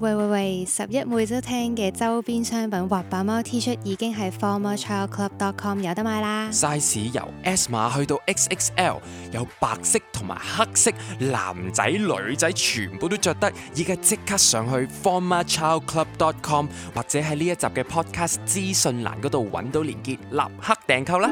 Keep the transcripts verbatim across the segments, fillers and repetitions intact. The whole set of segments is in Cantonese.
喂喂喂！十一每周聽嘅周邊商品滑板貓 T 恤已經喺 former child club dot com 有得買啦。 size 由 S 碼去到 X X L， 有白色同埋黑色，男仔女仔全部都着得。而家即刻上去 former child club dot com 或者喺呢一集嘅 podcast 資訊欄嗰度揾到連結，立刻訂購啦！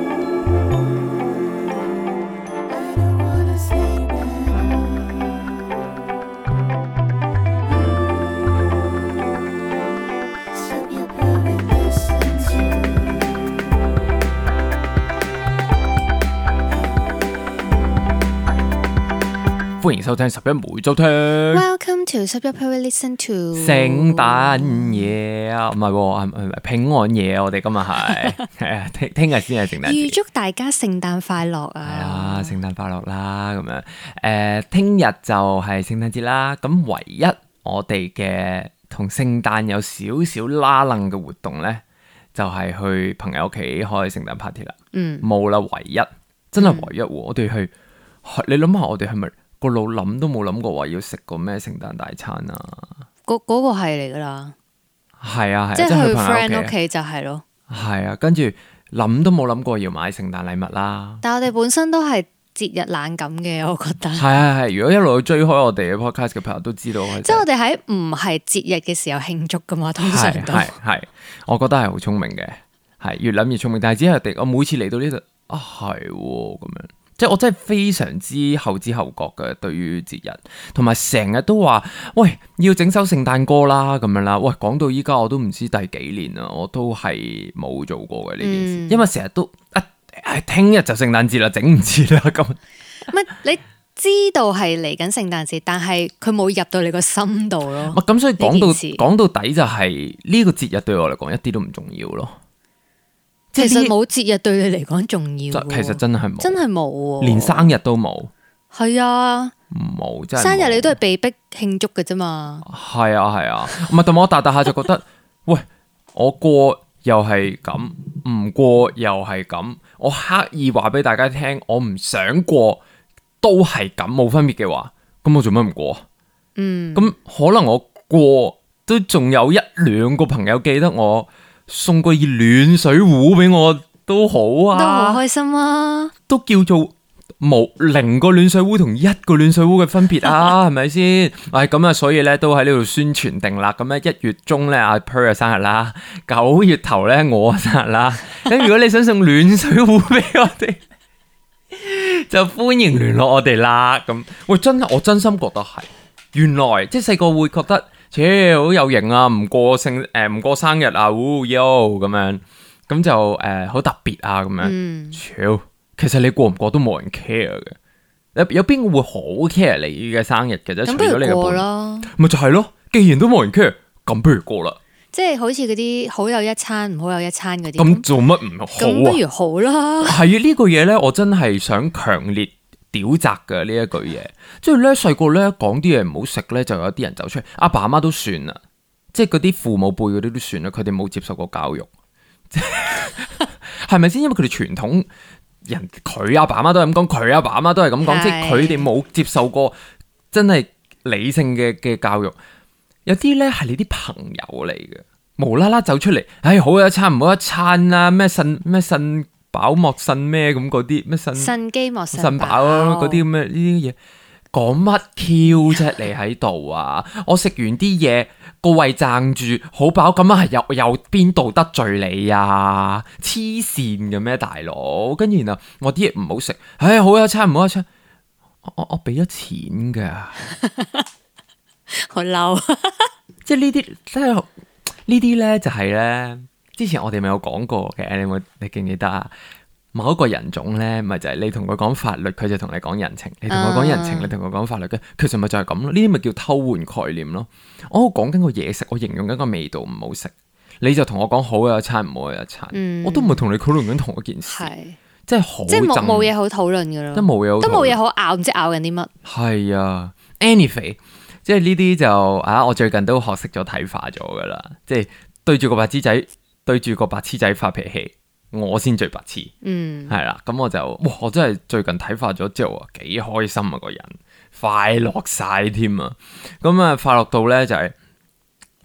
歡迎收聽十一每周聽。 Welcome to 十一 Period Listen to 聖誕夜啊，唔係喎，係咪平安夜啊？我哋今日係係啊，聽聽日先係聖誕節。 預祝大家聖誕快樂啊！ 係啊，聖誕快樂啦，咁樣誒，聽日就係聖誕節啦。咁唯一我哋嘅同聖誕有少少拉楞嘅活動咧，就係去朋友屋企開聖誕 party 啦。嗯，冇啦，唯一真係唯一喎。我哋係你諗下，我哋係咪？個腦諗都冇諗過話要食個咩聖誕大餐啊！ 嗰嗰、嗰個係嚟噶啦， 係啊係， 即係去朋友 friend 屋企就係咯。 係啊，跟住諗都冇諗過要買聖誕禮物啦。 但係我哋本身都係節日冷感嘅，我覺得。係係係，如果一路追開我哋嘅 podcast 嘅朋友都知道， 即係我哋喺唔係節日嘅時候慶祝噶嘛，通常都係係，我覺得係好聰明嘅，係越諗越聰明。但係只係我每次嚟到呢度啊，係咁樣。即係我真係非常之後知後覺嘅，對於節日，同埋成日都話喂要整首聖誕歌啦咁樣啦。喂，講到依家我都唔知第幾年啦，我都係冇做過嘅呢件事，嗯、因為成日都啊聽日就聖誕節啦，整唔切啦咁。 唔係你知道係嚟緊聖誕節，但係佢冇入到你個心度咯。 咁所以講到講到底就係呢個節日對我嚟講一啲都唔重要咯。 其實冇節日對你嚟講重要， 其實真係冇， 真係冇， 連生日都冇。係啊， 冇真係。 生日你都係被逼慶祝嘅啫嘛。 係啊係啊，唔係同我大大下就覺得，喂，我過又係咁，唔過又係咁，我刻意話俾大家聽，我唔想過都係咁，冇分別嘅話，咁我做乜唔過？嗯，咁可能我過都仲有一兩個朋友記得我。送個熱暖水壺俾我都好啊， 都好開心啊， 都叫做冇零個暖水壺同一個暖水壺嘅分別啊，係咪先？唉，咁啊，所以咧都喺呢度宣傳定啦。咁咧一月中咧阿 Per 嘅生日啦，九月頭咧我生日啦。咁如果你想送暖水壺俾我哋，就歡迎聯絡我哋啦。咁喂，真係我真心覺得係，原來即係細個會覺得。切好有型啊！唔過聖誒唔過生日啊，嗚喲咁樣，咁就誒好、呃、特別啊咁樣。超、嗯、其實你過唔過都冇人 care 嘅。有有邊個會好 care 你嘅生日嘅啫？除咗你嘅伴，咪就係咯。既然都冇人 care，咁不如過啦。即係好似嗰啲好有一餐唔好有一餐嗰啲。 咁做乜唔好啊？ 咁不如好啦。 係啊，呢個嘢咧，我真係想強烈。屌責嘅呢一句嘢，即係咧細個咧講啲嘢唔好食咧，就有啲人走出嚟。阿爸阿媽都算啦，即係嗰啲父母輩嗰啲都算啦，佢哋冇接受過教育，係咪先？因為佢哋傳統人，佢阿爸阿媽都係咁講，佢阿爸阿媽都係咁講，是即係佢哋冇接受過真係理性嘅嘅教育。有啲咧係你啲朋友嚟嘅，無啦啦走出嚟，唉、哎，好一餐唔好一餐啦，咩腎咩腎。飽莫腎咩咁嗰啲咩腎腎機莫腎腎飽啊嗰啲咁嘅呢啲嘢，講乜 Q 啫？你喺度啊！我食完啲嘢個胃撐住好飽，咁啊係又又邊度得罪你啊？黐線嘅咩大佬？跟住然後我啲嘢唔好食，唉、哎、好一餐唔好一餐，我我我俾咗錢噶， 好嬲！ 即係呢啲真係呢啲咧就係咧。之前我哋咪有講過嘅，你有冇你記唔記得啊？某一個人種咧，咪就係、是、你同佢講法律，佢就同你講人情；你同佢講人情，你同佢講法律嘅，其實咪就係咁咯。呢啲咪叫偷換概念咯。我講緊個嘢食，我形容緊個味道唔好食，你就同我講好有一餐，唔好有一餐，嗯、我都唔係同你討論緊同一件事，即係好即係冇冇嘢好討論噶咯， 都冇嘢， 都冇嘢好拗，唔知拗緊啲乜。 係啊 ，anyway， 即係呢啲就啊，我最近都學識咗睇化咗噶啦，即係對住個白痴仔。對住個白痴仔發脾氣，我先最白痴。嗯，係啦，咁我就哇，我真係最近睇化咗之後啊，幾開心啊，個人快樂晒添啊。咁啊，快樂到咧就係、是、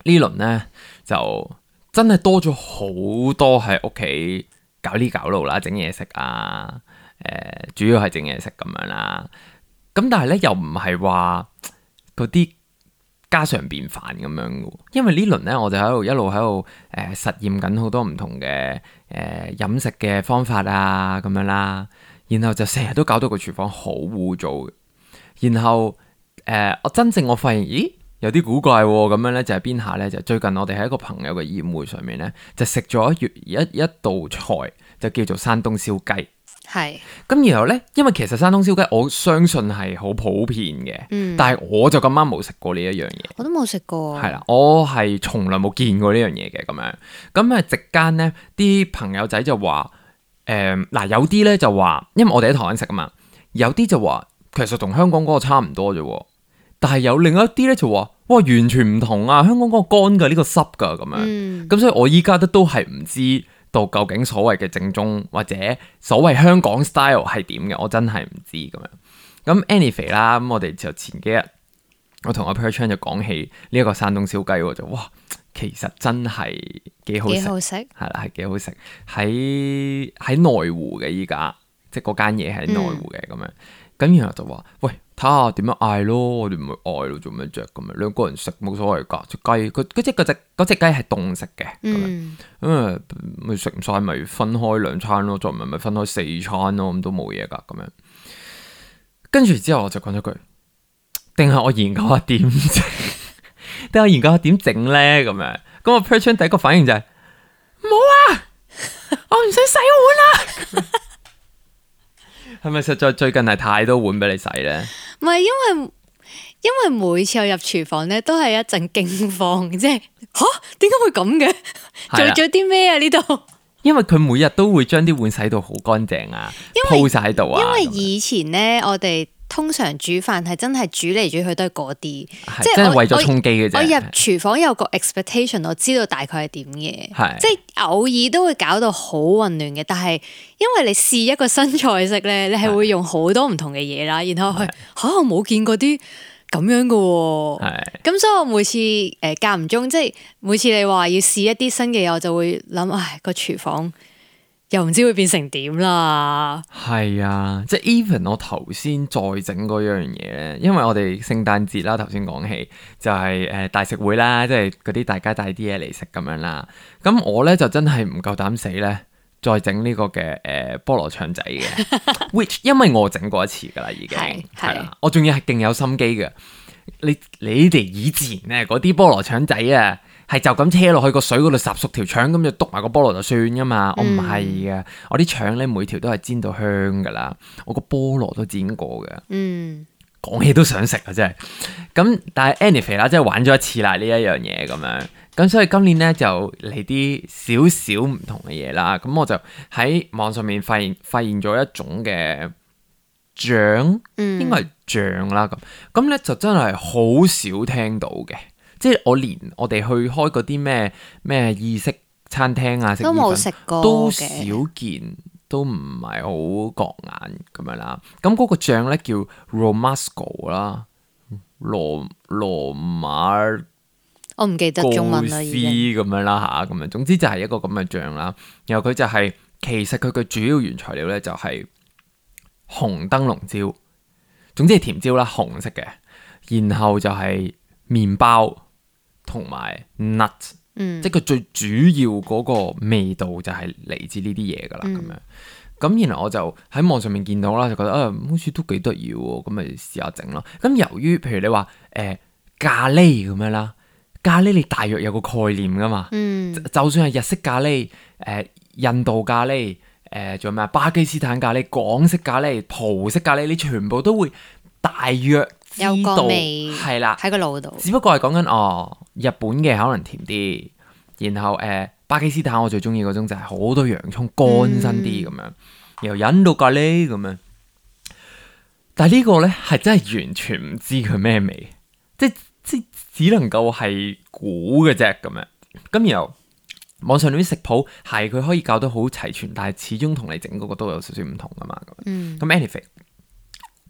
呢輪咧就真係多咗好多喺屋企搞呢搞路啦，整嘢食啊，誒、呃，主要係整嘢食咁樣啦。咁但係咧又唔係話嗰啲家常便飯咁樣嘅，因為呢輪咧我就喺度一路喺度誒實驗緊好多唔同嘅誒飲食嘅方法啊咁樣啦，然後就成日都搞到個廚房好污糟嘅。然後誒、呃、我真正我發現，咦有啲古怪咁樣咧，就係邊下咧？就最近我哋喺一個朋友嘅宴會上面咧，就食咗一一一道菜，就叫做山東燒雞。 係， 咁然後咧，因為其實山東燒雞我相信係好普遍嘅，嗯、但係我就咁啱冇食過呢一樣嘢， 我都冇食過， 係啦，我係從來冇見過呢樣嘢嘅咁樣。咁啊，席間咧啲朋友仔就話，誒、呃、嗱有啲咧就話，因為我哋喺台灣食啊嘛，有啲就話其實同香港嗰個差唔多啫，但係有另一啲咧就話，哇完全唔同啊！香港嗰個乾嘅，呢個濕噶咁樣，咁、嗯、所以我依家都都係唔知到究竟所謂嘅正宗或者所謂香港 style 係點嘅，我真係唔知咁樣。咁 anyway 啦，咁我哋就前幾日我同阿 Perchan 就講起呢一個山東燒雞，我就哇，其實真係幾好食， 幾好食係啦，係幾好食。喺喺內湖嘅依家，即係嗰間嘢喺內湖嘅咁樣。咁、嗯、然後就話，喂，睇下點樣嗌咯，我哋唔會嗌咯，做咩啫咁樣？兩個人食冇所謂㗎，隻雞，佢嗰隻嗰隻嗰隻雞係凍食嘅，咁樣，咁啊咪食唔晒咪分開兩餐咯，再唔係咪分開四餐咯，咁都冇嘢㗎，咁樣。跟住之後我就講咗句，定係我研究下點整，定係我研究下點整咧咁樣。咁我 Perchan 第一個反應就係、是，冇啊，我唔想洗碗啦。係咪實在最近係太多碗俾你洗咧？ 唔係，因為因為每次我入廚房咧，都係一陣驚慌，即係吓點解會咁嘅？做咗啲咩啊？呢度？ 因為佢每日都會將啲碗洗到好乾淨啊，鋪晒喺度啊。 因為以前咧，我哋通常煮飯係真係煮嚟煮去都係嗰啲，即係真係為咗充飢嘅啫。 我入廚房有個 expectation，我知道大概係點嘅， 係即係偶爾都會搞到好混亂嘅。但係因為你試一個新菜式咧，你係會用好多唔同嘅嘢啦，然後係吓我冇見過啲咁樣嘅喎，咁所以我每次誒間唔中，即係每次你話要試一啲新嘅嘢，我就會諗，唉個廚房又唔知會變成點啦。 係啊，即係 even 我頭先再整嗰樣嘢咧，因為我哋聖誕節啦，頭先講起就係、是、誒、呃、大食會啦，即係嗰啲大家帶啲嘢嚟食咁樣啦。咁我咧就真係唔夠膽死咧，再整呢個嘅誒、呃、菠蘿腸仔嘅，which 因為我整過一次噶啦，已經係啦，我仲要係勁有心機嘅。你你哋以前咧嗰啲菠蘿腸仔啊，係就咁車落去個水嗰度烚熟條腸，咁就篤埋個菠蘿就算噶嘛。嗯、我唔係嘅，我啲腸咧每條都係煎到香噶啦，我個菠蘿都煎過嘅。嗯，講起都想食啊，真係。咁但係 anyway 啦，即係玩咗一次啦呢一樣嘢咁樣。咁所以今年咧就嚟啲少少唔同嘅嘢啦。咁我就喺網上面發現發現咗一種嘅醬，嗯、應該係醬啦。咁咁咧就真係好少聽到嘅，即係我連我哋去開嗰啲咩咩意式餐廳啊， 都冇食過， 都少見，都唔係好覺眼咁樣啦。咁嗰個醬咧叫 Romasco 啦，羅羅馬。 我唔記得中文啦，已經咁樣啦吓，咁樣總之就係一個咁嘅醬啦。然後佢就係、是、其實佢嘅主要原材料咧就係紅燈籠椒，總之係甜椒啦，紅色嘅。然後就係麵包同埋 nut，嗯，即係佢最主要嗰個味道就係嚟自呢啲嘢噶啦，咁、嗯、樣。咁然後我就喺網上面見到啦，就覺得啊，好似都幾得意喎，咁咪試下整咯。咁由於譬如你話誒、呃、咖喱咁樣啦。咖喱你大約有個概念噶嘛，嗯、就算係日式咖喱、誒、呃、印度咖喱、誒仲有咩巴基斯坦咖喱、港式咖喱、葡式咖喱，你全部都會大約知道，有個味係啦，喺個腦度。只不過係講緊哦，日本嘅可能甜啲，然後誒、呃、巴基斯坦我最中意嗰種就係好多洋葱乾身啲咁樣，然後印度咖喱咁樣。但係呢個咧係真係完全唔知佢咩味，即即只能夠係估嘅啫咁樣，咁然後網上嗰啲食譜係佢可以教得好齊全，但係始終同你整嗰個都有少少唔同噶嘛咁。嗯，咁 anyway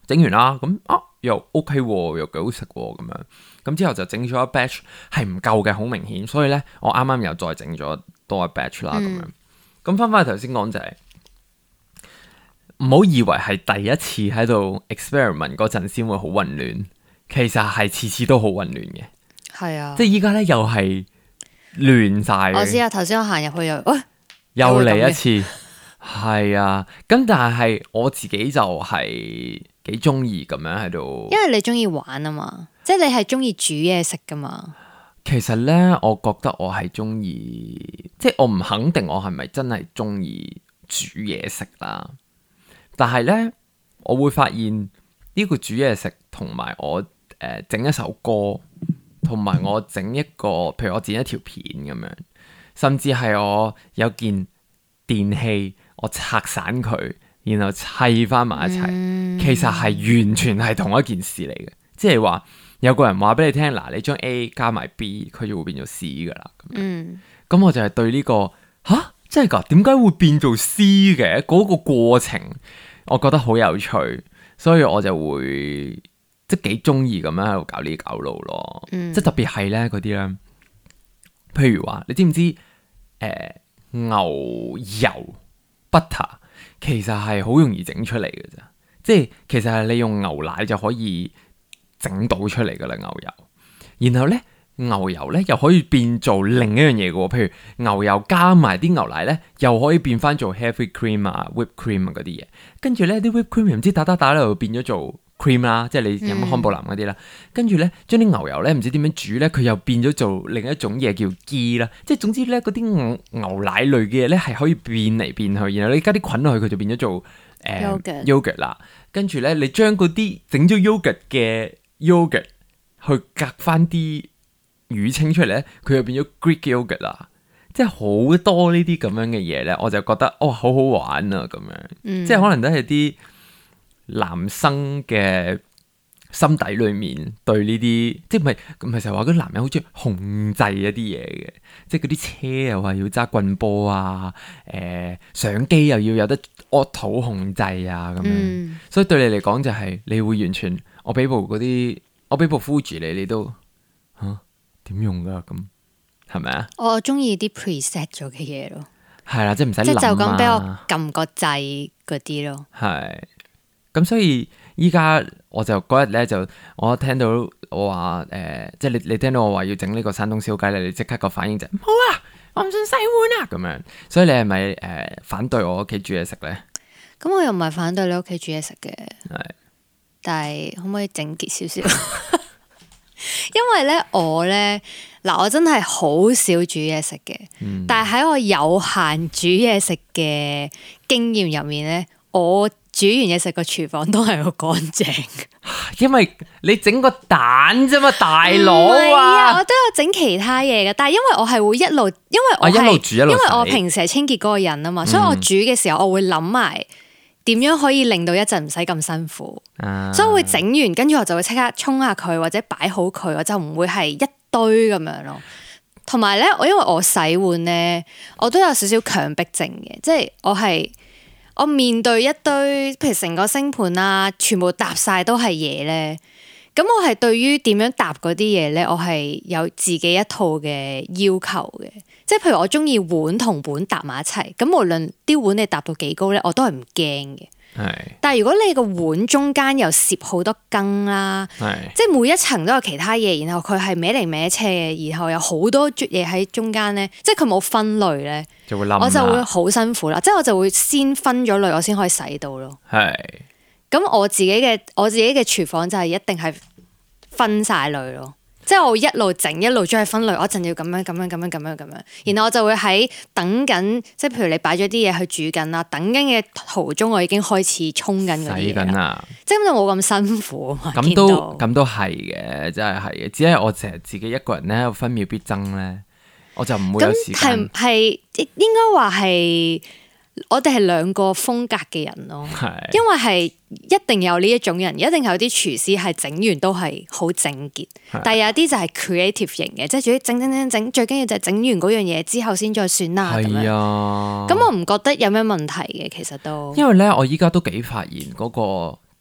整完啦，咁啊又 OK 喎，又幾好食喎咁樣。咁之後就整咗一 batch 係唔夠嘅，好明顯。所以咧，我啱啱又再整咗多一 batch 啦咁樣。咁翻返去頭先講就係唔好以為係第一次喺度 experiment 嗰陣先會好混亂，其實係次次都好混亂嘅。 係啊， 即係依家咧又係亂晒。 我知啊，頭先我行入去又，喂， 又嚟一次，係啊。咁但係我自己就係幾中意咁樣喺度， 因為你中意玩啊嘛，即係你係中意煮嘢食噶嘛。 其實咧，我覺得我係中意，即係我唔肯定我係咪真係中意煮嘢食啦。但係咧，我會發現呢個煮嘢食同埋我誒整、呃、一首歌，同埋我整一個，譬如我剪一條片咁樣，甚至係我有件電器，我拆散佢，然後砌翻埋一齊，嗯、其實係完全係同一件事嚟嘅。即係話有個人話俾你聽，嗱，你將 A 加埋 B， 佢就會變做 C 噶啦。咁、嗯、我就係對呢、這個吓，真係噶？點解會變做 C 嘅？嗰、那個過程我覺得好有趣，所以我就會即係幾中意咁樣喺度搞呢搞路咯。嗯、即係特別係咧嗰啲咧，譬如話你知唔知誒、呃、牛油 butter 其實係好容易整出嚟嘅咋？即係其實係你用牛奶就可以整到出嚟噶啦，牛油。然後咧，牛油咧又可以變做另一樣嘢嘅，譬如牛油加埋啲牛奶咧，又可以變翻做 heavy cream 啊、whipped cream 啊嗰啲嘢。跟住咧啲 whipped cream 唔知打打打咧，就變咗做 cream 啦，即係你飲康寶藍嗰啲啦。跟住咧，將啲牛油咧唔知點樣煮咧，佢又變咗做另一種嘢叫 ghee 啦。即係總之咧，嗰啲牛牛奶類嘅嘢咧係可以變嚟變去。然後你加啲菌落去，佢就變咗做誒 yogurt 啦。跟住咧，你將嗰啲整咗 yogurt 嘅 yogurt 去隔翻啲乳清出嚟咧，佢又變咗 Greek yogurt 啦，即係好多呢啲咁樣嘅嘢咧，我就覺得哦好好玩啊咁樣，嗯、即係可能都係啲男生嘅心底裏面對呢啲，即係唔係唔係成日話嗰啲男人好中意控制一啲嘢嘅，即係嗰啲車又話要揸棍波啊，誒、呃、相機又要有得 auto 控制啊咁樣，嗯、所以對你嚟講就係、是、你會完全我俾部嗰啲。我俾部 Fuji 你，你都吓點用噶咁係咪啊？我中意啲 preset 咗嘅嘢咯，係啦，即係唔使諗啊，即係就咁俾我撳個掣嗰啲咯。係咁，所以依家我就嗰日咧就我聽到我話誒、呃，即係你你聽到我話要整呢個山東燒雞咧，你即刻個反應就唔好啊，我唔想洗碗啊咁樣。所以你係咪誒反對我屋企煮嘢食咧？咁我又唔係反對你屋企煮嘢食嘅，係。但係可唔可以整潔少少？因為咧我咧嗱，我真係好少煮嘢食嘅。嗯、但係喺我有限煮嘢食嘅經驗入面咧，我煮完嘢食個廚房都係好乾淨。因為你整個蛋啫嘛，大佬啊！我都有整其他嘢嘅，但係因為我係會一路，因為我係、啊、一路煮一路洗，因為我平時係清潔嗰個人啊嘛，嗯、所以我煮嘅時候我會諗埋。點樣可以令到一陣唔使咁辛苦？啊、所以我會整完，跟住我就會即刻沖下佢，或者擺好佢，我就唔會係一堆咁樣咯。同埋咧，我因為我洗碗咧，我都有少少強迫症嘅，即係我係我面對一堆，譬如成個星盤啊，全部搭晒都係嘢咧。咁我係對於點樣搭嗰啲嘢咧，我係有自己一套嘅要求嘅。即係譬如我中意碗同碗搭埋一齊，咁無論啲碗你搭到幾高咧，我都係唔驚嘅。係。但係如果你個碗中間又攝好多羹啦，係。即係每一層都有其他嘢，然後佢係歪嚟歪斜嘅，然後有好多啜嘢喺中間咧，即係佢冇分類咧，就會冧，我就會好辛苦啦。即係我就會先分咗類，我先可以洗到咯。係。咁我自己嘅我自己嘅廚房就係一定係分晒類咯。即係我一路整一路將佢分類，我一陣要咁樣咁樣咁樣咁樣咁樣，然後我就會喺等緊，即係譬如你擺咗啲嘢去煮緊啦，等緊嘅途中我已經開始沖緊嗰啲嘢啦，即係咁就冇咁辛苦啊嘛。咁都咁都係嘅，真係係嘅，只係我成日自己一個人咧，分秒必爭咧，我就唔會有時間。咁係係應該話係。我哋係兩個風格嘅人咯，是因為係一定有呢一種人，一定有啲廚師係整完都係好整潔，是但係有啲就係 creative 型嘅，即係主整整整整，最緊要就係整完嗰樣嘢之後先再算啦咁樣。咁我唔覺得有咩問題嘅，其實都因為咧，我依家都幾發現嗰個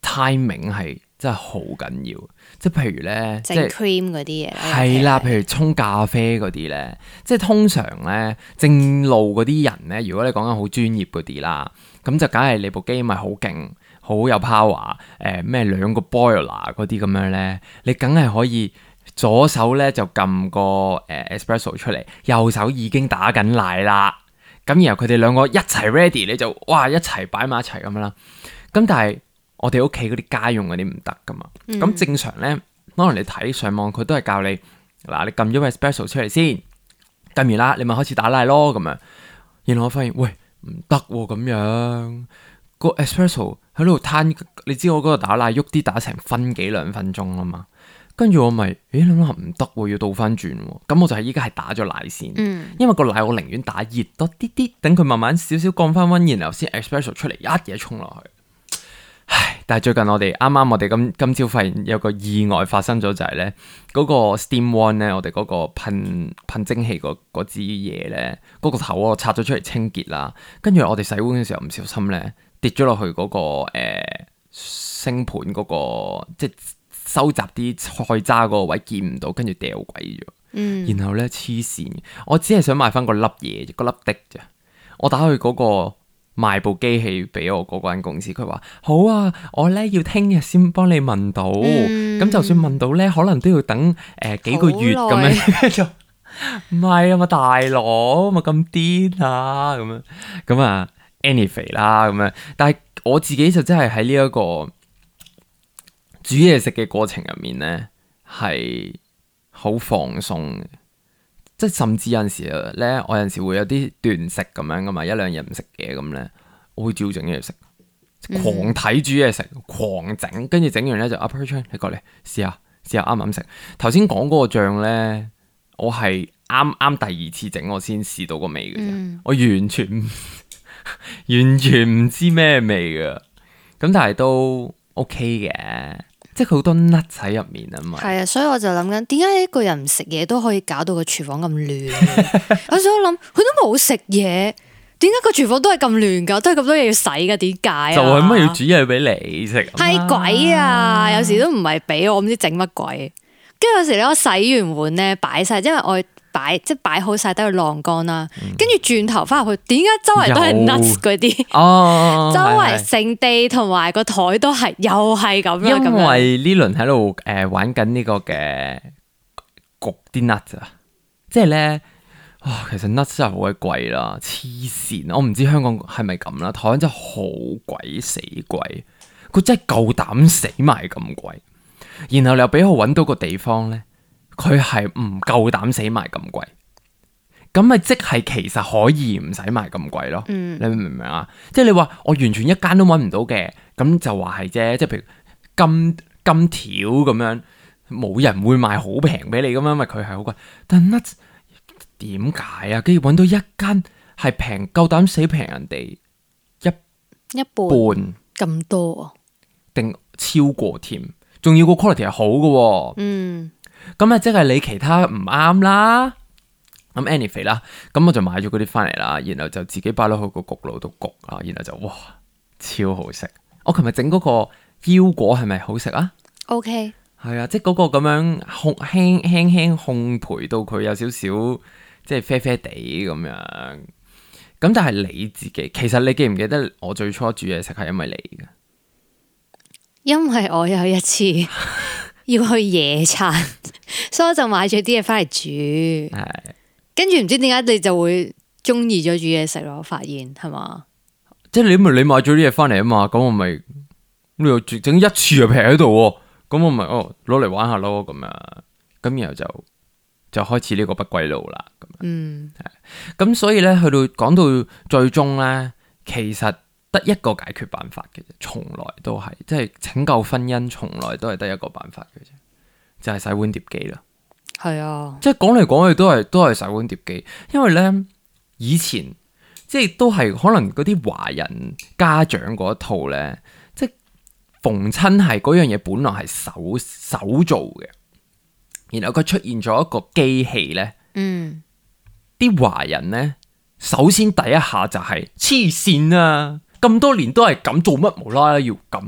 timing 係真係好緊要。即係譬如咧， 整 cream 嗰啲嘢係啦，譬如沖咖啡嗰啲咧，即係通常咧正路嗰啲人咧，如果你講緊好專業嗰啲啦，咁就梗係你部機咪好勁，好有 power，誒咩兩個 boiler 嗰啲咁樣咧，你梗係可以左手咧就撳個誒 espresso 出嚟，右手已經打緊奶啦。咁然後佢哋兩個一齊 ready，你就哇一齊擺埋一齊咁樣啦。咁但係我哋屋企嗰啲家用嗰啲唔得噶嘛。咁、嗯、正常咧，可能你睇上網佢都係教你嗱，你撳咗個 espresso 出嚟先，撳完啦，你咪開始打奶咯咁樣。然後我發現喂唔得喎咁樣，個 espresso 喺度攤，你知我嗰個打奶喐啲打成分幾兩分鐘啊嘛。跟住我咪，咦諗下唔得喎，要倒翻轉喎。咁我就係依家係打咗奶先，嗯、因為個奶我寧願打熱多啲啲，等佢慢慢少少降翻溫，然後先 espresso 出嚟一嘢沖落去。唉，但係最近我哋啱啱我哋今今朝發現有個意外發生咗，就係咧嗰個 steam wand 咧，我哋嗰個噴噴蒸氣嗰支嘢咧，嗰、嗰個頭我拆咗出嚟清潔啦。跟住我哋洗碗嘅時候唔小心咧跌咗落去嗰、嗰個誒星盤嗰個即係。收集啲菜渣嗰個位見唔到，跟住掉鬼咗。嗯，然後咧黐線，我只係想買翻個粒嘢，個粒的啫。我打去嗰個賣部機器俾我嗰間公司，佢話好啊，我咧要聽日先幫你問到。咁、嗯、就算問到咧，可能都要等誒、呃、幾個月咁樣。就唔係啊嘛，大佬咪咁癲啊咁樣。咁啊 anyway 啦咁樣。但係我自己就真係喺呢一個煮嘢食嘅過程入面咧，係好放鬆嘅，即係甚至有陣時咧，我有陣時會有啲斷食咁樣噶嘛，一兩日唔食嘢咁咧，我會照整嘢食，狂睇煮嘢食，狂整，跟住整完咧就 upload 你過嚟試下，試下啱唔啱食。頭先講嗰個醬咧，我係啱啱第二次整我先試到個味嘅啫，嗯、我完全完全唔知咩味噶，咁但係都 OK 嘅。即係佢好多 nut 喺入面啊嘛， 係啊，所以我就諗緊，點解一個人唔食嘢都可以搞到個廚房咁亂？我想諗，佢都冇食嘢，點解個廚房都係咁亂噶？都係咁多嘢要洗噶？點解啊？ 就係乜要煮嘢俾你食？ 係鬼啊！有時都唔係俾我，唔知整乜鬼。跟住有時咧，我洗完碗咧，擺晒，因為我擺即係擺好晒，等佢晾乾啦。跟住轉頭翻入去，點解周圍都係 nuts 嗰啲？哦，周圍成地同埋個台都係，又係咁樣。 因為呢輪喺度誒玩緊呢個嘅焗啲 nuts 啊，即係咧，哇，其實 nuts 真係好鬼貴啦，黐線！我唔知香港係咪咁啦，台灣真係好鬼死貴，佢真係夠膽死埋咁貴，然後你又俾我搵到個地方咧。佢係唔夠膽死埋咁貴，咁咪即係其實可以唔使賣咁貴咯。嗯、你明唔明啊？即係你話我完全一間都揾唔到嘅，咁就話係啫。即係譬如金金條咁樣，冇人會賣好平俾你咁樣，因為佢係好貴。但係點解啊？跟住揾到一間係平，夠膽死平人哋一一半咁多啊？ 定超過添？仲要個 quality 係好嘅。嗯。咁啊，即係你其他唔啱啦。咁 anyway 啦，咁我就買咗嗰啲翻嚟啦，然後就自己擺落去個焗爐度焗啊，然後就哇，超好食。我琴日整嗰個腰果係咪好食啊 ？OK， 係啊，即係嗰個咁樣烘輕輕輕烘焙到佢有少少即係啡啡地咁樣。咁但係你自己，其實你記唔記得我最初煮嘢食係因為你嘅？ 因為我有一次。要去野餐，所以我就買咗啲嘢翻嚟煮。係，跟住唔知點解你就會中意咗煮嘢食咯？我發現係嘛？ 即係你咪你買咗啲嘢翻嚟啊嘛？咁我咪你又整一次就劈喺度，咁我咪哦攞嚟玩下咯咁樣。咁然後就就開始呢個不歸路啦。咁嗯，係。咁所以咧，去到講到最終咧，其實。得一個解決辦法嘅啫，從來都係即係拯救婚姻，從來都係得一個辦法嘅啫，就係洗碗碟機啦。 係啊， 即係講嚟講去都係都係洗碗碟機，因為咧以前即係都係可能嗰啲華人家長嗰一套咧，即係逢親係嗰樣嘢本來係手手做嘅，然後佢出現咗一個機器咧，嗯，啲華人咧首先第一下就係黐線啊！咁多年都係咁，做乜無啦啦要咁啊？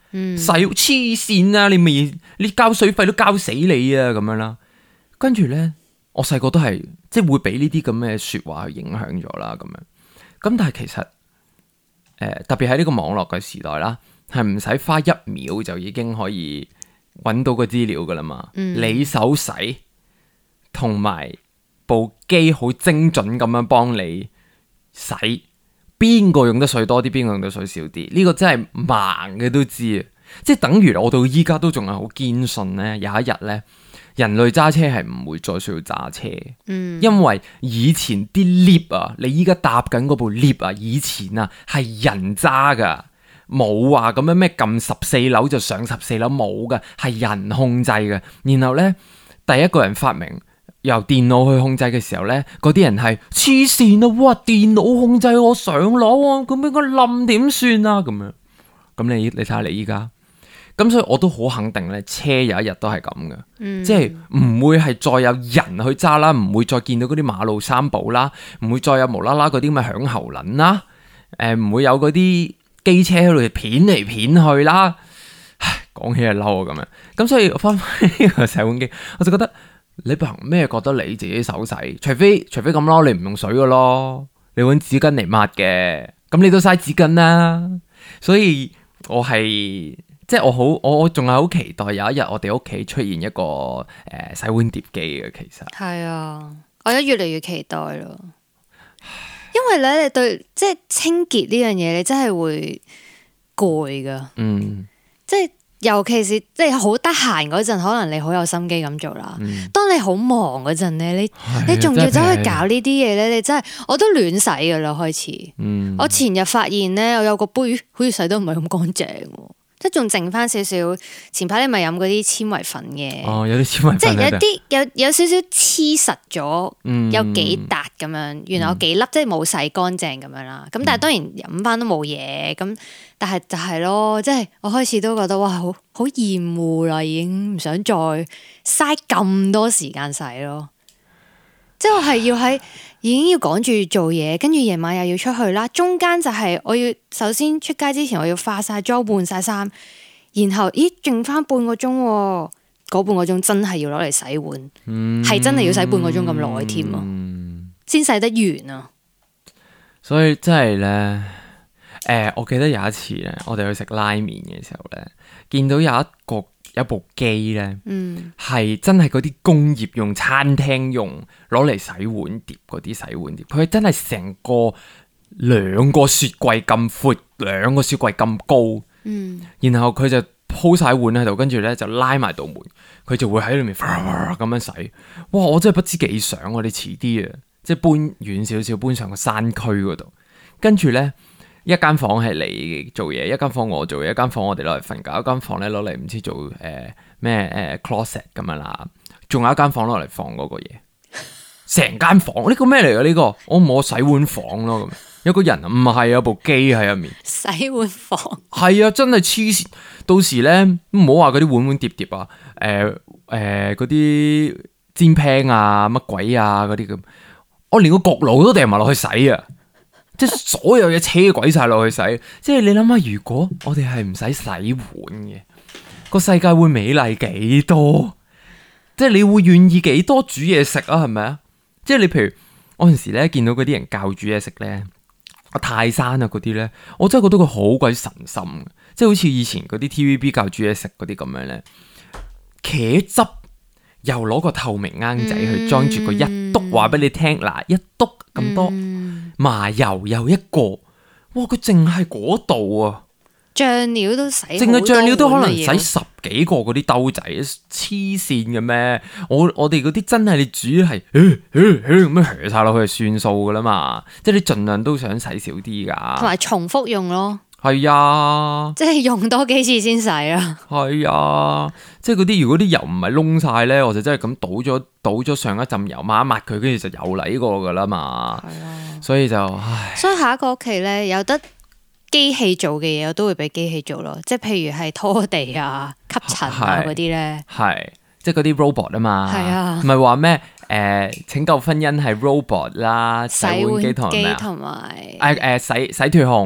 洗黐線啊！你未你交水費都交死你啊咁樣啦。跟住咧，我細個都係即係會俾呢啲咁嘅説話去影響咗啦咁樣。咁但係其實誒、呃、特別喺呢個網絡嘅時代啦，係唔使花一秒就已經可以揾到個資料噶啦嘛。嗯、你手洗同埋部機好精準咁樣幫你洗，邊個用得水多啲，邊個用得水少啲？呢、這個真係盲嘅都知啊！即係等於我到依家都仲係好堅信咧，有一日咧，人類揸車係唔會再需要揸車，嗯、因為以前啲 lift 啊，你依家搭緊嗰部 lift 啊，以前啊係人揸噶，冇話咁樣咩撳十四樓就上十四樓，冇噶，係人控制嘅。然後咧，第一個人發明由電腦去控制嘅時候咧，嗰啲人係黐線啊！哇，電腦控制我上樓啊，咁應該冧點算啊？咁樣，咁你你睇下你依家。咁所以我都好肯定咧，車有一日都係咁嘅，嗯、即係唔會係再有人去揸啦，唔會再見到嗰啲馬路三寶啦，唔會再有無啦啦嗰啲咁嘅響喉輪啦，誒、呃、唔會有嗰啲機車喺度片嚟片去啦。唉，講起係嬲啊咁樣。咁所以翻返呢個洗碗機，我就覺得你憑咩覺得你自己手洗？除非除非咁咯，你唔用水嘅咯，你揾紙巾嚟抹嘅，咁你都嘥紙巾啦。所以我係。即係我好，我仲係好期待有一日我哋屋企出現一個誒、呃、洗碗碟機嘅。其實係啊，我而家越嚟越期待咯。因為咧，你對即係清潔呢樣嘢，你真係會攰噶。嗯，即係尤其是即係好得閒嗰陣，可能你好有心機咁做啦。嗯、當你好忙嗰陣咧，你你仲要走去搞呢啲嘢咧，你真係我都亂洗噶啦。開始，嗯、我前日發現咧，我有個杯好似洗得唔係咁乾淨。即係仲剩翻少少，前排你咪飲嗰啲纖維粉嘅， 哦，有啲纖維粉， 即係有啲有有少少黐實咗，嗯、有幾笪咁樣，原來有幾粒，嗯、即係冇洗乾淨咁樣啦。咁但係當然飲翻都冇嘢，咁但係就係咯，即係我開始都覺得哇，好好厭惡啦，已經唔想再嘥咁多時間洗咯。即係我係要喺已經要趕住做嘢，跟住夜晚又要出去啦。中間就係我要首先出街之前，我要化晒妝、換晒衫，然後咦，剩翻半個鐘，嗰半個鐘真係要攞嚟洗碗，係、嗯、真係要洗半個鐘咁耐添啊，先洗得完啊。 所以真係咧，誒、呃，我記得有一次咧，我哋去食拉麵嘅時候咧，見到有一個。有部機咧，係、嗯、真係嗰啲工業用、餐廳用攞嚟洗碗碟嗰啲洗碗碟，佢真係成個兩個雪櫃咁闊，兩個雪櫃咁高，嗯、然後佢就鋪晒碗喺度，跟住咧就拉埋道門，佢就會喺裏面咁樣洗。哇！我真係不知幾想，我哋遲啲啊，即係搬遠少少，搬上個山區嗰度，跟住咧。一間房係你做嘢，一間房我做嘢，一間房我哋攞嚟瞓覺，一間房咧攞嚟唔知做誒咩誒 closet 咁樣啦，仲有一間房攞嚟放嗰個嘢，成間房呢、呢個咩嚟㗎？呢、呢個我冇洗碗房咯，咁有個人唔係有部機喺入面洗碗房，係啊，真係黐線！到時咧唔好話嗰啲碗碗碟碟啊，誒誒嗰啲煎 pan 啊乜鬼啊嗰啲咁，我連個焗爐都掟埋落去洗啊！即係所有嘢車鬼晒落去洗，即係你諗下，如果我哋係唔使洗碗嘅，個世界會美麗幾多？即係你會願意幾多煮嘢食啊？係咪啊？即係你譬如我陣時咧見到嗰啲人教煮嘢食咧，泰山啊嗰啲咧，我真係覺得佢好鬼神心，即係好似以前嗰啲 T V B 教煮嘢食嗰啲咁樣咧，茄汁又攞個透明罌仔去裝住個一篤，話俾你聽嗱，一篤咁多。嗯麻油又一個，哇！佢淨係嗰度啊， 醬料都洗， 淨係醬料都可能洗十幾個嗰啲兜仔，黐線嘅咩？我我哋嗰啲真係你煮係，咁樣削晒落去就算數噶啦嘛，即係你盡量都想洗少啲噶， 同埋重複用咯。 係啊， 即係用多幾次先洗啊。 係啊，即係嗰啲如果啲油唔係燶晒咧，我就真係咁倒咗倒咗上一浸油抹一抹佢，跟住就有嚟過噶啦嘛。係啊，所以就唉。所以下一個屋企咧有得機器做嘅嘢，我都會俾機器做咯。即係譬如係拖地啊、吸塵啊嗰啲咧， 係即係嗰啲 robot 啊嘛。 係啊， 唔係話咩？誒、呃，拯救婚姻係 robot 啦，洗碗機同埋誒誒洗洗脫控。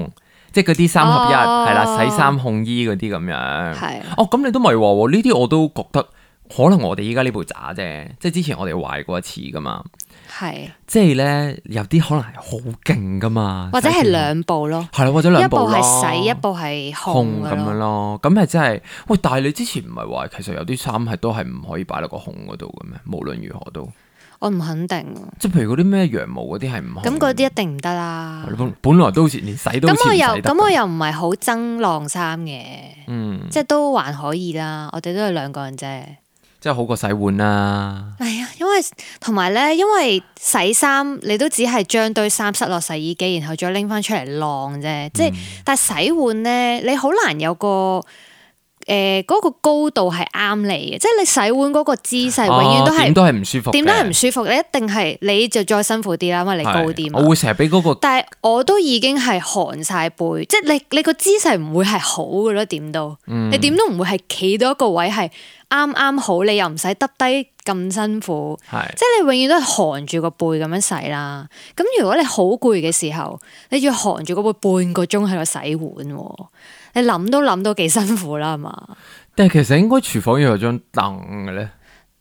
即係嗰啲三合一係啦、 哦， 洗衫烘衣嗰啲咁樣。 係哦，咁你都咪話喎？呢啲我都覺得可能我哋依家呢部渣啫，即係之前我哋壞過一次噶嘛。 係， 即係咧有啲可能係好勁噶嘛， 或者係兩部咯， 係啦，或者兩部一部係洗，一部係烘咁樣咯。咁係真係喂，但係你之前唔係話其實有啲衫係都係唔可以擺落個烘嗰度嘅咩？無論如何都， 我唔肯定。 即係譬如嗰啲咩羊毛嗰啲係唔烘， 咁嗰啲一定唔得啦。 本本來都好似連洗都好似唔洗得。 咁我又咁我又唔係好憎晾衫嘅， 嗯， 即係都還可以啦。我哋都係兩個人啫。 即係好過洗碗啦。 係啊，因為同埋咧，因為洗衫你都只係將堆衫塞落洗衣機，然後再拎翻出嚟晾啫。即係，但係洗碗咧，你好難有個誒嗰個高度係啱你嘅。即係你洗碗嗰個姿勢，永遠都係點都係唔舒服， 點都係唔舒服。你一定係你就再辛苦啲啦，因為你高啲嘛。 我會成日俾嗰個， 但係我都已經係寒晒背，即係你你個姿勢唔會係好嘅咯，點都，你點都唔會係企到一個位係啱啱好，你又唔使耷低咁辛苦，即係你永遠都係寒住個背咁樣洗啦。咁如果你好攰嘅時候，你要寒住個背半個鐘喺度洗碗，你諗都諗到幾辛苦啦，係嘛？ 但係其實應該廚房要有張凳嘅咧，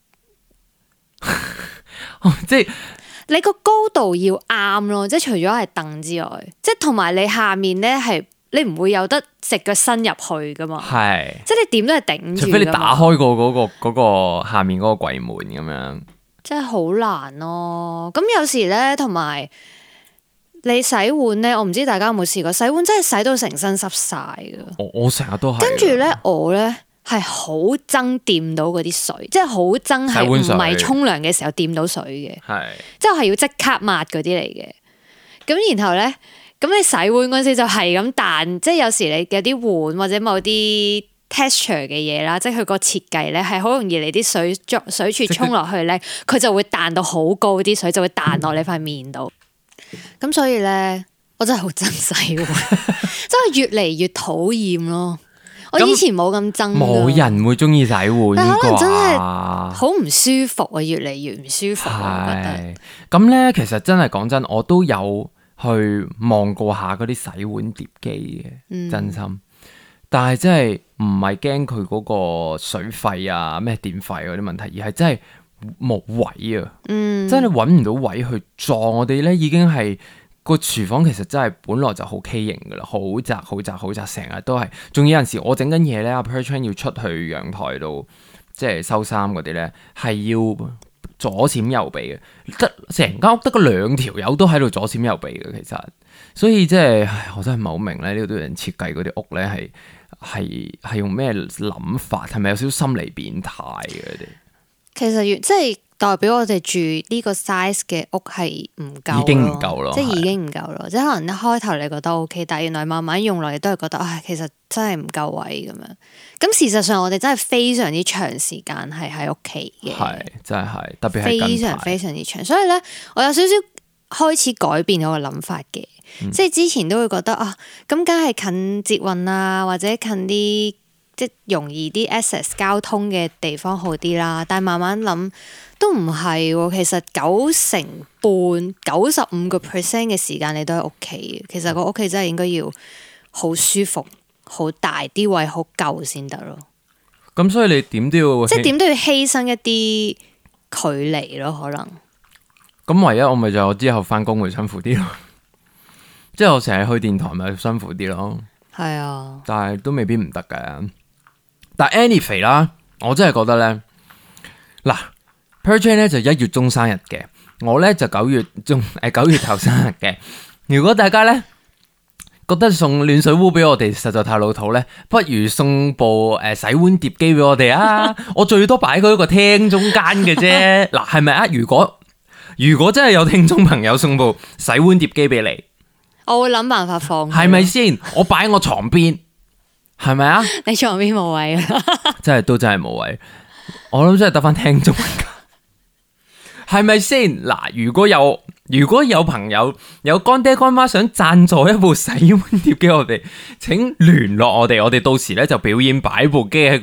即係你個高度要啱咯，即係除咗係凳之外，即係同埋你下面咧係。你唔會有得直腳伸入去噶嘛？係，即係你點都係頂住。 除非你打開過嗰個嗰個下面嗰個櫃門咁樣， 即係好難咯。咁有時咧，同埋你洗碗咧，我唔知大家有冇試過洗碗，真係洗到成身濕晒噶。 我我成日都係。 跟住咧，我咧係好憎掂到嗰啲水，即係好憎係唔係沖涼嘅時候掂到水嘅。係，即係我係要即刻抹嗰啲嚟嘅。咁然後咧。咁你洗碗嗰陣時就係咁彈，即係有時你有啲碗或者某啲 texture 嘅嘢啦，即係佢個設計咧係好容易你啲水水柱沖落去咧，佢就會彈到好高，啲水就會彈落你塊面度。咁、嗯、所以咧，我真係好憎洗碗，真係越嚟越討厭咯。我以前冇咁憎， 冇人會中意洗碗， 但可能真係好唔舒服啊，越嚟越唔舒服。我覺得咁咧，其實真係講真，我都有。去望過下嗰啲洗碗碟機嘅，嗯、真心，但係真係唔係驚佢嗰個水費啊、咩電費嗰啲問題，而係真係冇位啊，嗯、真係揾唔到位去裝。我哋咧已經係個廚房其實真係本來就好畸形噶啦，好窄、好窄、好窄，成日都係。仲有陣時我整緊嘢咧，阿 Perchan 要出去陽台度，即係收衫嗰啲咧，係要。左閃右避嘅，得成間屋得個兩條友都喺度左閃右避嘅，其實，所以即係，我真係唔係好明咧，呢度啲人設計嗰啲屋咧，係係係用咩諗法？係咪有少少心理變態嘅？佢哋其實越即係代表我哋住呢個 size 嘅屋係唔夠， 已經唔夠咯， 即係已經唔夠咯。即係可能一開頭你覺得 OK，但係原來慢慢用落，你都係覺得，唉，其實真係唔夠位咁樣。咁事實上，我哋真係非常之長時間係喺屋企嘅， 係真係特別係非常非常之長。所以咧，我有少少開始改變我嘅諗法嘅，嗯、即係之前都會覺得啊，咁梗係近捷運啊，或者近啲即係容易啲 access 交通嘅地方好啲啦。但係慢慢諗都唔係喎，其實九成半、九十五個 percent 嘅時間你都喺屋企。其實個屋企真係應該要好舒服。好大啲位好夠先得咯， 咁所以你點都要即係點都要犧牲一啲距離咯，可能。 咁唯一我咪就我之後翻工會辛苦啲咯，即係我成日去電台咪辛苦啲咯。係啊，但係都未必唔得嘅。但係 anyway 啦，我真係覺得咧，嗱 Perchan 咧就一月中生日嘅，我咧就九月中誒九月頭生日嘅。如果大家咧覺得送暖水壺俾我哋實在太老土咧，不如送部誒、呃、洗碗碟機俾我哋啊！我最多擺喺個廳中間嘅啫。嗱，係咪啊？如果如果真係有聽眾朋友送部洗碗碟機俾你， 我會諗辦法放， 係咪先？我擺喺我床邊，係咪啊？ 你床邊冇位啊？ 真係都真係冇位。我諗真係得翻聽眾，係咪先？嗱，如果有。如果有朋友有乾爹乾媽想贊助一部洗碗碟機我哋，請聯絡我哋，我哋到時咧就表演擺部機喺個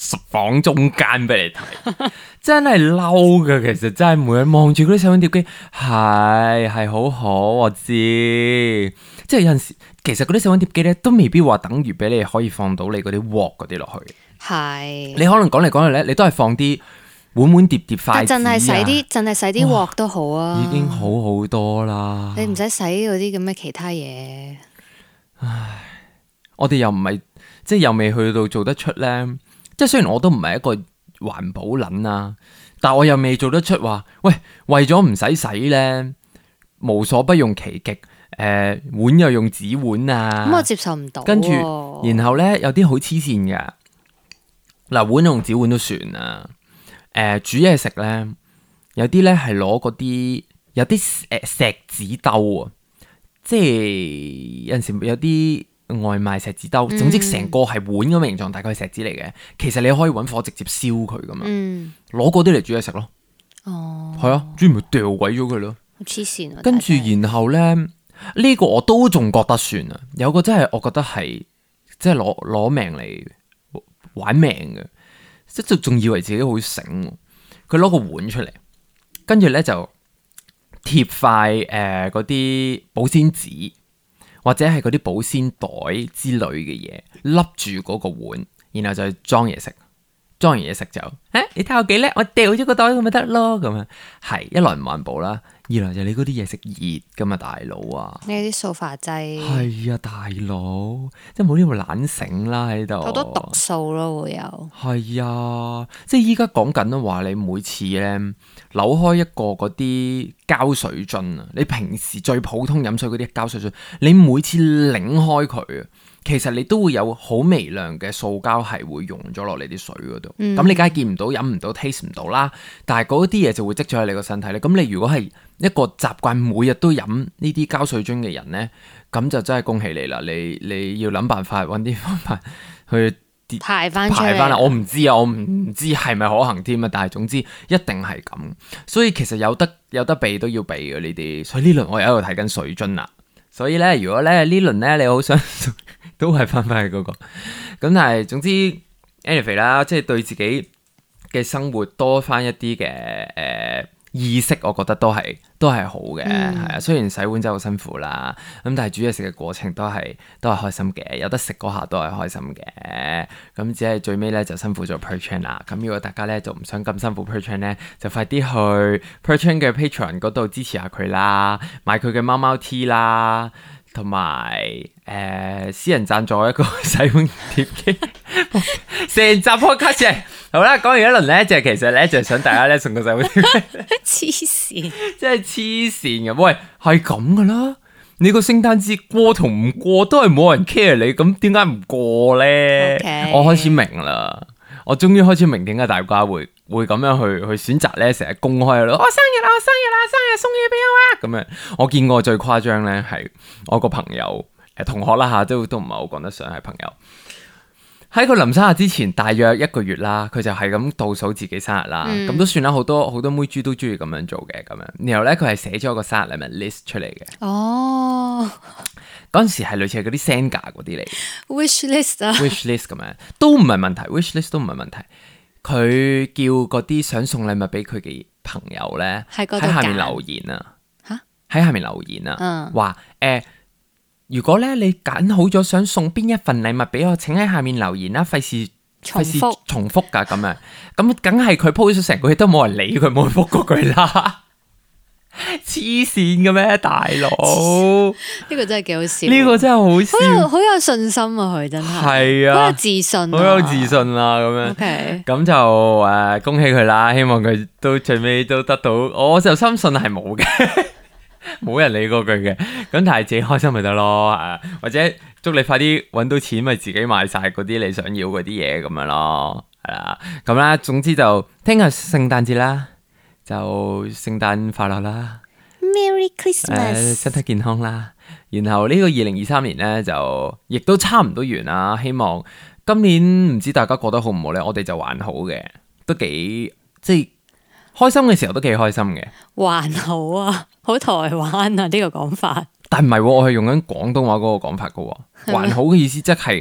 房中間俾你睇，真係嬲噶。其實真係每日望住嗰啲洗碗碟機，係係好好，我知。即係有陣時，其實嗰啲洗碗碟機咧，都未必話等於俾你可以放到你嗰啲鑊嗰啲落去。 係， 你可能講嚟講去咧，你都係放啲碗碗碟碟筷子啊， 淨係洗啲，淨係洗啲鑊都好啊， 已經好好多啦。 你唔使洗嗰啲咁嘅其他嘢。 唉，我哋又唔係，即係又未去到做得出咧。即係雖然我都唔係一個環保撚啊，但我又未做得出話，喂，為咗唔使洗咧，無所不用其極。誒、呃，碗又用紙碗啊， 咁我接受唔到。 跟住，然後咧有啲好黐線㗎。嗱，碗用紙碗都算啦。誒、呃，煮嘢食咧，有啲咧係攞嗰啲，有啲誒錫紙兜啊，即係有陣時有啲外賣錫紙兜，總之成個係碗咁嘅形狀，大概係錫紙嚟嘅。其實你可以搵火直接燒佢噶嘛，攞嗰啲嚟煮嘢食咯。哦，係啊，煮唔係掉鬼咗佢咯。 黐線啊！ 跟住然後咧，呢、這個我都仲覺得算啊，有個真係我覺得係即係攞攞命嚟玩命嘅，即係仲以為自己好醒。佢攞個碗出嚟，跟住咧就貼塊誒嗰啲保鮮紙或者係嗰啲保鮮袋之類嘅嘢，笠住嗰個碗，然後就去裝嘢食。裝完嘢食就，誒、欸，你睇我幾叻，我掉咗個袋咁咪得咯，咁樣係一來唔環保啦，二來就你嗰啲嘢食熱噶嘛，大佬啊， 你啲塑化劑係啊，大佬，即係冇呢個懶醒啦喺度， 好多毒素咯會有， 係啊，即係依家講緊都話你每次咧扭開一個嗰啲膠水樽啊，你平時最普通飲水嗰啲膠水樽，你每次擰開佢啊。其實你都會有好微量嘅塑膠係會溶咗落你啲水嗰度，咁、嗯、你梗係見唔到、飲唔到、taste 唔到啦。但係嗰啲嘢就會積咗喺你個身體咧。咁你如果係一個習慣每日都飲呢啲膠水樽嘅人咧，咁就真係恭喜你啦！你你要諗辦法揾啲方法去排翻排翻啦。我唔知啊，我唔知係咪可行添啊。但係總之一定係咁。所以其實有得有得避都要避嘅呢啲。所以呢輪我又喺度睇緊水樽啦。所以咧，如果咧呢輪咧你好想都係翻翻去嗰個，咁但係總之 anyway 啦，即係對自己嘅生活多翻一啲嘅誒意識，我覺得都係都係好嘅，係啊、嗯。雖然洗碗真係好辛苦啦，咁但係煮嘢食嘅過程都係都係開心嘅，有得食嗰下都係開心嘅。咁只係最尾咧就辛苦咗 Perchan 啦。咁如果大家咧就唔想咁辛苦 Perchan 咧，就快啲去 Perchan 嘅 Patreon 嗰度支持下佢啦，買佢嘅貓貓 T 啦。同埋誒私人贊助一個洗碗碟機，成集 podcast 好啦，講完一輪咧，就其實咧就係想大家咧送個洗碗碟機， 黐線， 真係黐線嘅。喂，係咁噶啦，你個聖誕節過同唔過都係冇人 care 你，咁點解唔過咧？Okay. 我開始明啦。我終於開始明點解大家會會咁樣去去選擇咧，成日公開咯。我、哦、生日啦，我生日啦，生日送嘢俾我啊！咁樣，我見過最誇張咧係我個朋友誒同學啦吓，都都唔係好講得上係朋友。喺佢臨生日之前大約一個月啦，佢就係咁倒數自己生日啦。咁、嗯、都算啦，好多好多妹豬都中意咁樣做嘅咁樣。然後咧佢係寫咗個生日禮物 list 出嚟嘅。哦。嗰陣時係類似係嗰啲 Senga 嗰啲嚟 ，wish list 啊 ，wish list 咁樣都唔係問題 ，wish list 都唔係問題。佢叫嗰啲想送禮物俾佢嘅朋友咧，喺下面留言啊，吓喺下面留言啊，話誒、嗯呃，如果咧你揀好咗想送邊一份禮物俾我，請喺下面留言啦，費事費事重複噶咁樣，咁梗係佢 post 咗成個月都冇人理佢，冇人覆過佢啦。黐線嘅咩，大佬？ 呢個真係幾好笑。 呢個真係好笑， 好有好有信心啊！佢真係係啊，好有自信、啊， 好有自信啦、啊。咁樣，咁 Okay. 就誒、呃、恭喜佢啦！希望佢都最尾都得到，我就深信係冇嘅，冇人理過佢嘅。咁但係自己開心咪得咯，誒或者祝你快啲搵到錢，咪自己買晒嗰啲你想要嗰啲嘢咁樣咯，係啦。咁啦，總之就聽日聖誕節啦。就聖誕快樂啦 ，Merry Christmas，、呃、 身體健康啦。然後呢個二零二三年呢，就亦都差唔多完啦。希望今年唔知大家過得好唔好呢？我哋就還好嘅，都幾即係開心嘅時候都幾開心嘅。 還好啊，好台灣啊呢、這個講法。 但唔係、啊，我係用緊廣東話嗰個講法噶。還好嘅意思即係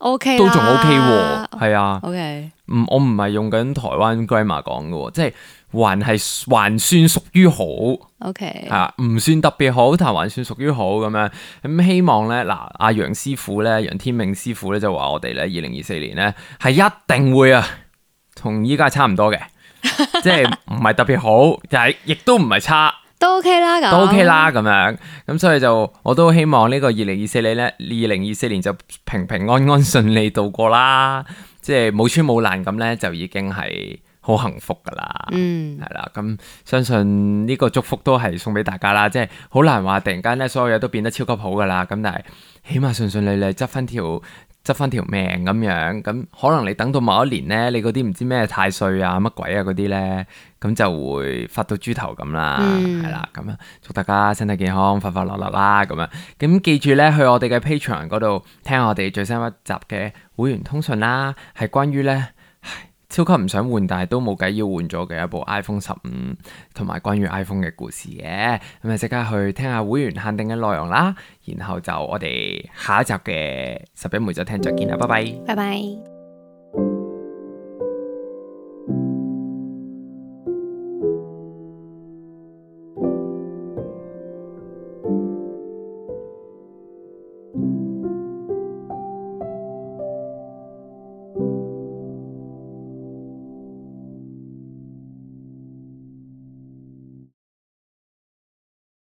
OK 都仲 OK 喎，係啊。 OK， 唔，我唔係用緊台灣 grammar 講嘅，即係還係還算屬於好。 OK， 係啊，唔算特別好，但係還算屬於好咁樣。咁希望咧，嗱，阿楊師傅咧，楊天命師傅咧就話我哋咧，二零二四年咧係一定會啊，同依家差唔多嘅，即係唔係特別好，但係亦都唔係差。 都 OK 啦，咁都 OK 啦，咁樣，咁所以就我都希望呢個二零二四年咧，二零二四年就平平安安順利度過啦，即係冇穿冇爛咁咧，就已經係好幸福噶啦， 嗯， 係啦，咁相信呢個祝福都係送俾大家啦，即係好難話突然間咧所有嘢都變得超級好噶啦，咁但係起碼順順利利執翻條。執翻條命咁樣，咁可能你等到某一年咧，你嗰啲唔知咩太歲啊、乜鬼啊嗰啲咧，咁就會發到豬頭咁啦，係啦、嗯，咁啊，祝大家身體健康、快快樂樂啦，咁樣，咁記住咧，去我哋嘅 Patreon 嗰度聽我哋最新一集嘅會員通訊啦，係關於咧。超級唔想換，但係都冇計要換咗嘅一部 iPhone 十五，同埋關於 iPhone 嘅故事嘅，咁啊即刻去聽下會員限定嘅內容啦，然後就我哋下一集嘅拾壹每週聽再見啦，拜拜， 拜拜。